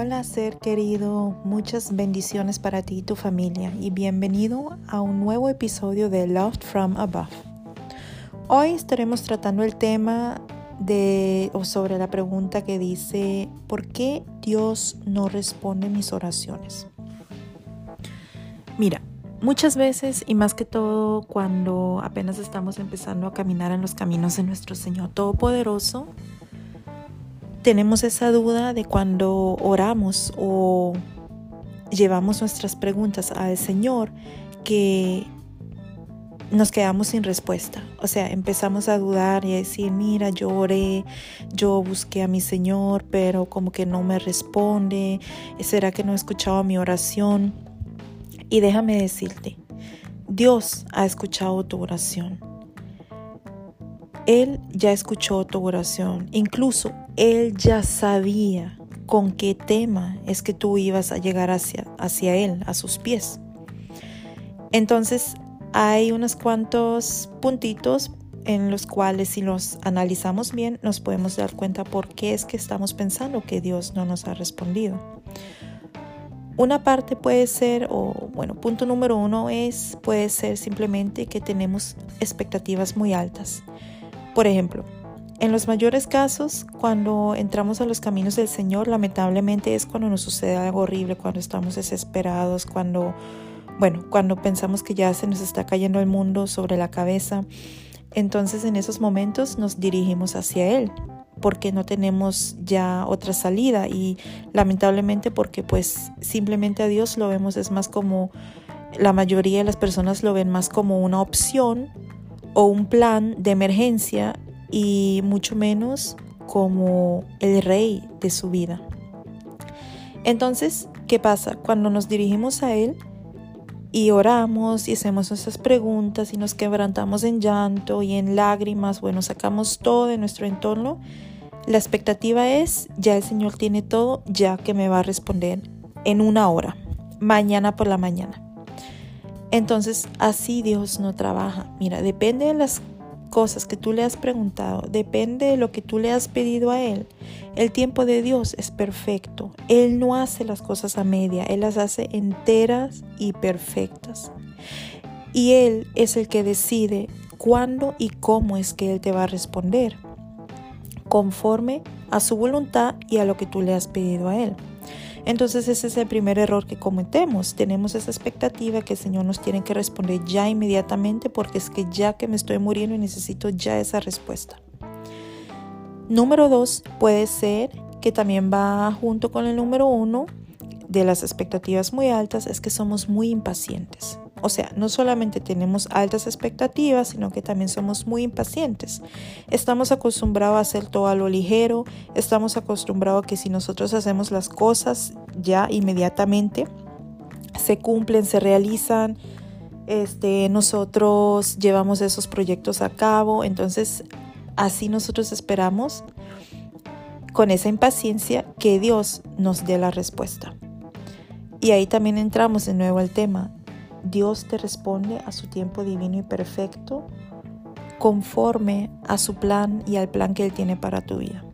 Hola ser querido, muchas bendiciones para ti y tu familia y bienvenido a un nuevo episodio de Loved from Above. Hoy estaremos tratando el tema sobre la pregunta que dice ¿por qué Dios no responde mis oraciones? Mira, muchas veces y más que todo cuando apenas estamos empezando a caminar en los caminos de nuestro Señor Todopoderoso, tenemos esa duda de cuando oramos o llevamos nuestras preguntas al Señor que nos quedamos sin respuesta. O sea, empezamos a dudar y a decir, mira, yo oré, yo busqué a mi Señor, pero como que no me responde. ¿Será que no he escuchado mi oración? Y déjame decirte, Dios ha escuchado tu oración. Él ya escuchó tu oración, incluso Él ya sabía con qué tema es que tú ibas a llegar hacia Él, a sus pies. Entonces hay unos cuantos puntitos en los cuales si los analizamos bien nos podemos dar cuenta por qué es que estamos pensando que Dios no nos ha respondido. Una parte puede ser, punto número uno puede ser simplemente que tenemos expectativas muy altas. Por ejemplo, en los mayores casos, cuando entramos a los caminos del Señor, lamentablemente es cuando nos sucede algo horrible, cuando estamos desesperados, cuando pensamos que ya se nos está cayendo el mundo sobre la cabeza. Entonces, en esos momentos nos dirigimos hacia Él, porque no tenemos ya otra salida y lamentablemente porque pues simplemente a Dios lo vemos es más como, la mayoría de las personas lo ven más como una opción o un plan de emergencia y mucho menos como el rey de su vida. Entonces, ¿qué pasa? Cuando nos dirigimos a Él y oramos y hacemos nuestras preguntas y nos quebrantamos en llanto y en lágrimas, sacamos todo de nuestro entorno, la expectativa es, ya el Señor tiene todo, ya que me va a responder en 1 hora, mañana por la mañana. Entonces, así Dios no trabaja. Mira, depende de las cosas que tú le has preguntado, depende de lo que tú le has pedido a Él. El tiempo de Dios es perfecto. Él no hace las cosas a media, Él las hace enteras y perfectas. Y Él es el que decide cuándo y cómo es que Él te va a responder, conforme a su voluntad y a lo que tú le has pedido a Él. Entonces ese es el primer error que cometemos. Tenemos esa expectativa que el Señor nos tiene que responder ya inmediatamente porque es que ya que me estoy muriendo y necesito ya esa respuesta. Número 2 puede ser que también va junto con el número 1 de las expectativas muy altas, es que somos muy impacientes. O sea, no solamente tenemos altas expectativas, sino que también somos muy impacientes. Estamos acostumbrados a hacer todo a lo ligero, estamos acostumbrados a que si nosotros hacemos las cosas ya inmediatamente se cumplen, se realizan, nosotros llevamos esos proyectos a cabo. Entonces, así nosotros esperamos con esa impaciencia que Dios nos dé la respuesta. Y ahí también entramos de nuevo al tema. Dios te responde a su tiempo divino y perfecto, conforme a su plan y al plan que Él tiene para tu vida.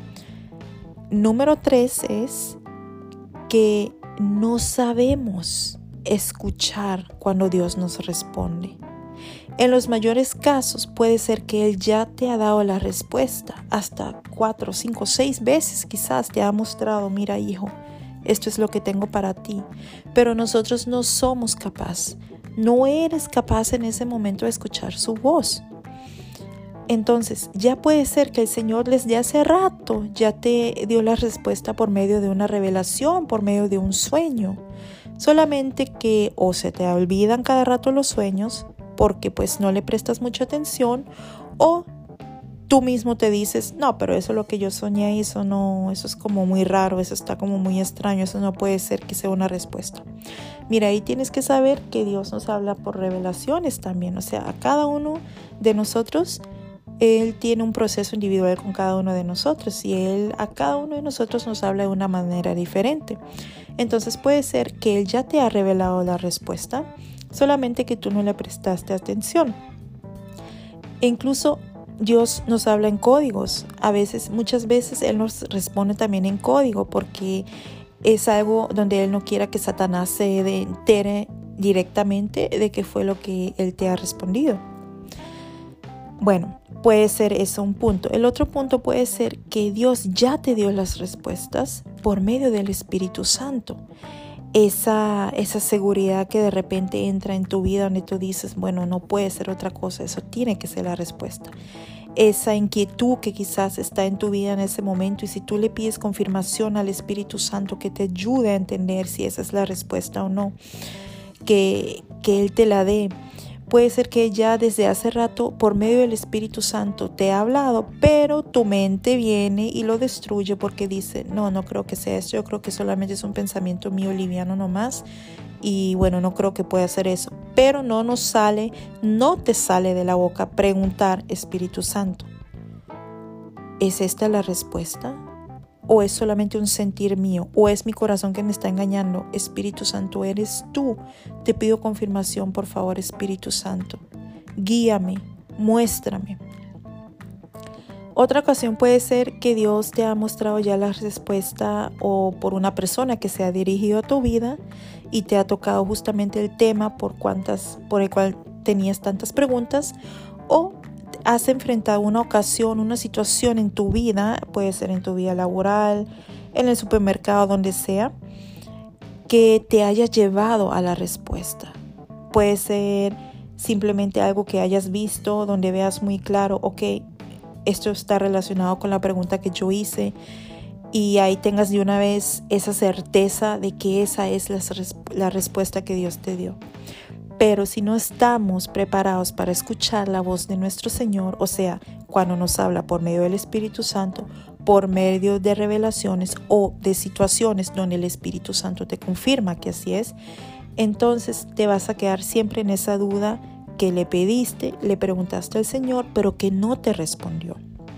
Número 3 es que no sabemos escuchar cuando Dios nos responde. En los mayores casos puede ser que Él ya te ha dado la respuesta, hasta 4, 5, 6 veces quizás te ha mostrado, mira hijo, esto es lo que tengo para ti, pero nosotros no somos capaces, no eres capaz en ese momento de escuchar su voz. Entonces, ya puede ser que el Señor desde hace rato ya te dio la respuesta por medio de una revelación, por medio de un sueño. Solamente que o se te olvidan cada rato los sueños porque pues no le prestas mucha atención, o tú mismo te dices, no, pero eso es lo que yo soñé, eso es como muy raro, eso está como muy extraño, eso no puede ser que sea una respuesta. Mira, ahí tienes que saber que Dios nos habla por revelaciones también, o sea, a cada uno de nosotros, Él tiene un proceso individual con cada uno de nosotros y Él a cada uno de nosotros nos habla de una manera diferente. Entonces puede ser que Él ya te ha revelado la respuesta, solamente que tú no le prestaste atención. E incluso Dios nos habla en códigos. Muchas veces Él nos responde también en código porque es algo donde Él no quiera que Satanás se entere directamente de qué fue lo que Él te ha respondido. Bueno, puede ser eso un punto. El otro punto puede ser que Dios ya te dio las respuestas por medio del Espíritu Santo. Esa seguridad que de repente entra en tu vida donde tú dices, bueno, no puede ser otra cosa, eso tiene que ser la respuesta. Esa inquietud que quizás está en tu vida en ese momento, y si tú le pides confirmación al Espíritu Santo que te ayude a entender si esa es la respuesta o no, que Él te la dé. Puede ser que ya desde hace rato, por medio del Espíritu Santo, te ha hablado, pero tu mente viene y lo destruye porque dice, no creo que sea esto, yo creo que solamente es un pensamiento mío liviano nomás, y bueno, no creo que pueda hacer eso. Pero no te sale de la boca preguntar, Espíritu Santo, ¿es esta la respuesta? ¿O es solamente un sentir mío? ¿O es mi corazón que me está engañando? Espíritu Santo, eres tú. Te pido confirmación, por favor, Espíritu Santo. Guíame, muéstrame. Otra ocasión puede ser que Dios te ha mostrado ya la respuesta, o por una persona que se ha dirigido a tu vida y te ha tocado justamente el tema por el cual tenías tantas preguntas, o has enfrentado una ocasión, una situación en tu vida, puede ser en tu vida laboral, en el supermercado, donde sea, que te haya llevado a la respuesta. Puede ser simplemente algo que hayas visto, donde veas muy claro, ok, esto está relacionado con la pregunta que yo hice, y ahí tengas de una vez esa certeza de que esa es la respuesta que Dios te dio. Pero si no estamos preparados para escuchar la voz de nuestro Señor, o sea, cuando nos habla por medio del Espíritu Santo, por medio de revelaciones o de situaciones donde el Espíritu Santo te confirma que así es, entonces te vas a quedar siempre en esa duda que le pediste, le preguntaste al Señor, pero que no te respondió.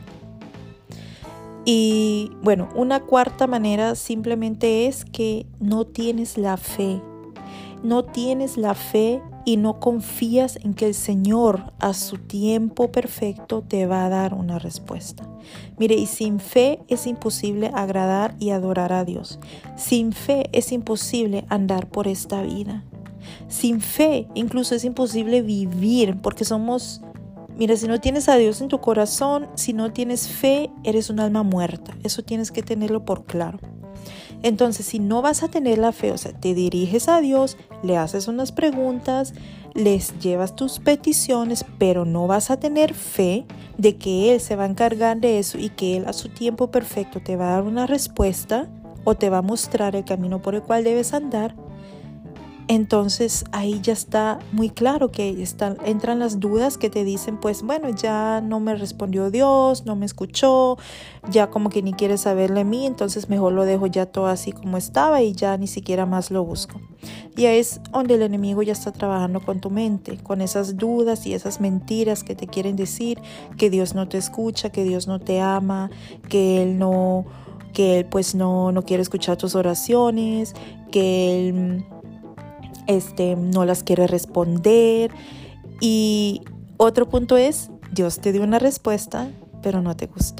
Y bueno, una cuarta manera simplemente es que no tienes la fe. No tienes la fe y no confías en que el Señor a su tiempo perfecto te va a dar una respuesta. Mire, y sin fe es imposible agradar y adorar a Dios. Sin fe es imposible andar por esta vida. Sin fe incluso es imposible vivir, porque mira, si no tienes a Dios en tu corazón, si no tienes fe, eres un alma muerta. Eso tienes que tenerlo por claro. Entonces, si no vas a tener la fe, o sea, te diriges a Dios, le haces unas preguntas, les llevas tus peticiones, pero no vas a tener fe de que Él se va a encargar de eso y que Él a su tiempo perfecto te va a dar una respuesta o te va a mostrar el camino por el cual debes andar. Entonces ahí ya está muy claro que entran las dudas que te dicen, pues bueno, ya no me respondió Dios, no me escuchó, ya como que ni quiere saber de mí, entonces mejor lo dejo ya todo así como estaba y ya ni siquiera más lo busco. Y ahí es donde el enemigo ya está trabajando con tu mente, con esas dudas y esas mentiras que te quieren decir, que Dios no te escucha, que Dios no te ama, que Él pues no quiere escuchar tus oraciones, que Él no las quiere responder. Y otro punto es, Dios te dio una respuesta, pero no te gustó.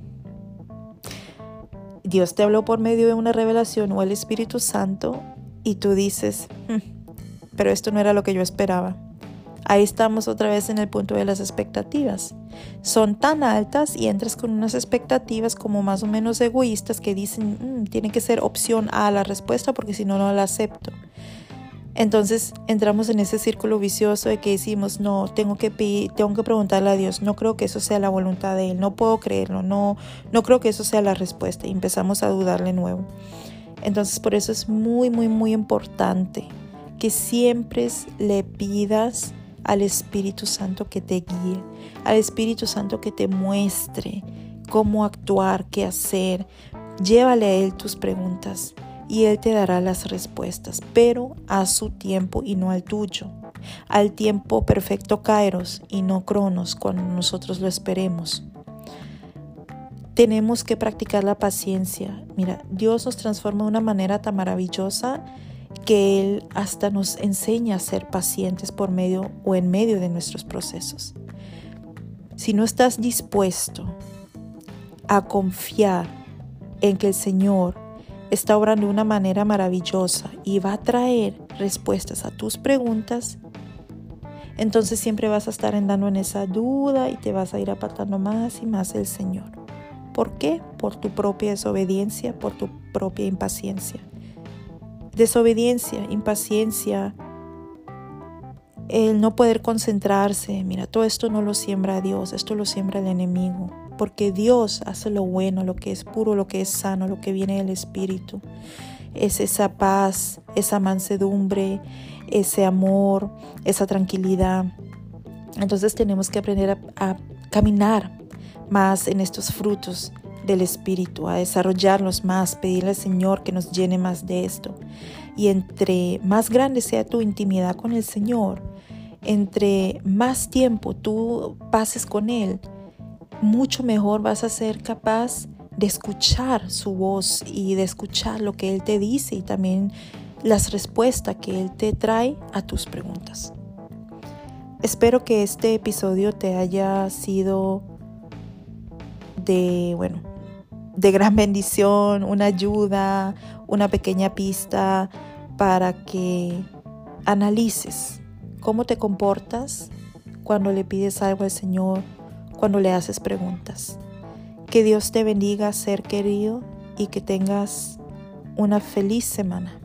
Dios te habló por medio de una revelación o el Espíritu Santo y tú dices, pero esto no era lo que yo esperaba. Ahí estamos otra vez en el punto de las expectativas. Son tan altas y entras con unas expectativas como más o menos egoístas que dicen, tiene que ser opción A la respuesta porque si no, no la acepto. Entonces entramos en ese círculo vicioso de que decimos, no, tengo que preguntarle a Dios, no creo que eso sea la voluntad de Él, no puedo creerlo, no creo que eso sea la respuesta, y empezamos a dudar de nuevo. Entonces por eso es muy, muy, muy importante que siempre le pidas al Espíritu Santo que te guíe, al Espíritu Santo que te muestre cómo actuar, qué hacer. Llévale a Él tus preguntas y Él te dará las respuestas, pero a su tiempo y no al tuyo. Al tiempo perfecto Kairos y no Cronos cuando nosotros lo esperemos. Tenemos que practicar la paciencia. Mira, Dios nos transforma de una manera tan maravillosa que Él hasta nos enseña a ser pacientes por medio o en medio de nuestros procesos. Si no estás dispuesto a confiar en que el Señor está obrando de una manera maravillosa y va a traer respuestas a tus preguntas, entonces siempre vas a estar andando en esa duda y te vas a ir apartando más y más del Señor. ¿Por qué? Por tu propia desobediencia, por tu propia impaciencia. Desobediencia, impaciencia, el no poder concentrarse. Mira, todo esto no lo siembra Dios, esto lo siembra el enemigo. Porque Dios hace lo bueno, lo que es puro, lo que es sano, lo que viene del Espíritu. Es esa paz, esa mansedumbre, ese amor, esa tranquilidad. Entonces tenemos que aprender a caminar más en estos frutos del Espíritu, a desarrollarlos más, pedirle al Señor que nos llene más de esto. Y entre más grande sea tu intimidad con el Señor, entre más tiempo tú pases con Él, mucho mejor vas a ser capaz de escuchar su voz y de escuchar lo que Él te dice y también las respuestas que Él te trae a tus preguntas. Espero que este episodio te haya sido de gran bendición, una ayuda, una pequeña pista para que analices cómo te comportas cuando le pides algo al Señor, cuando le haces preguntas. Que Dios te bendiga, ser querido, y que tengas una feliz semana.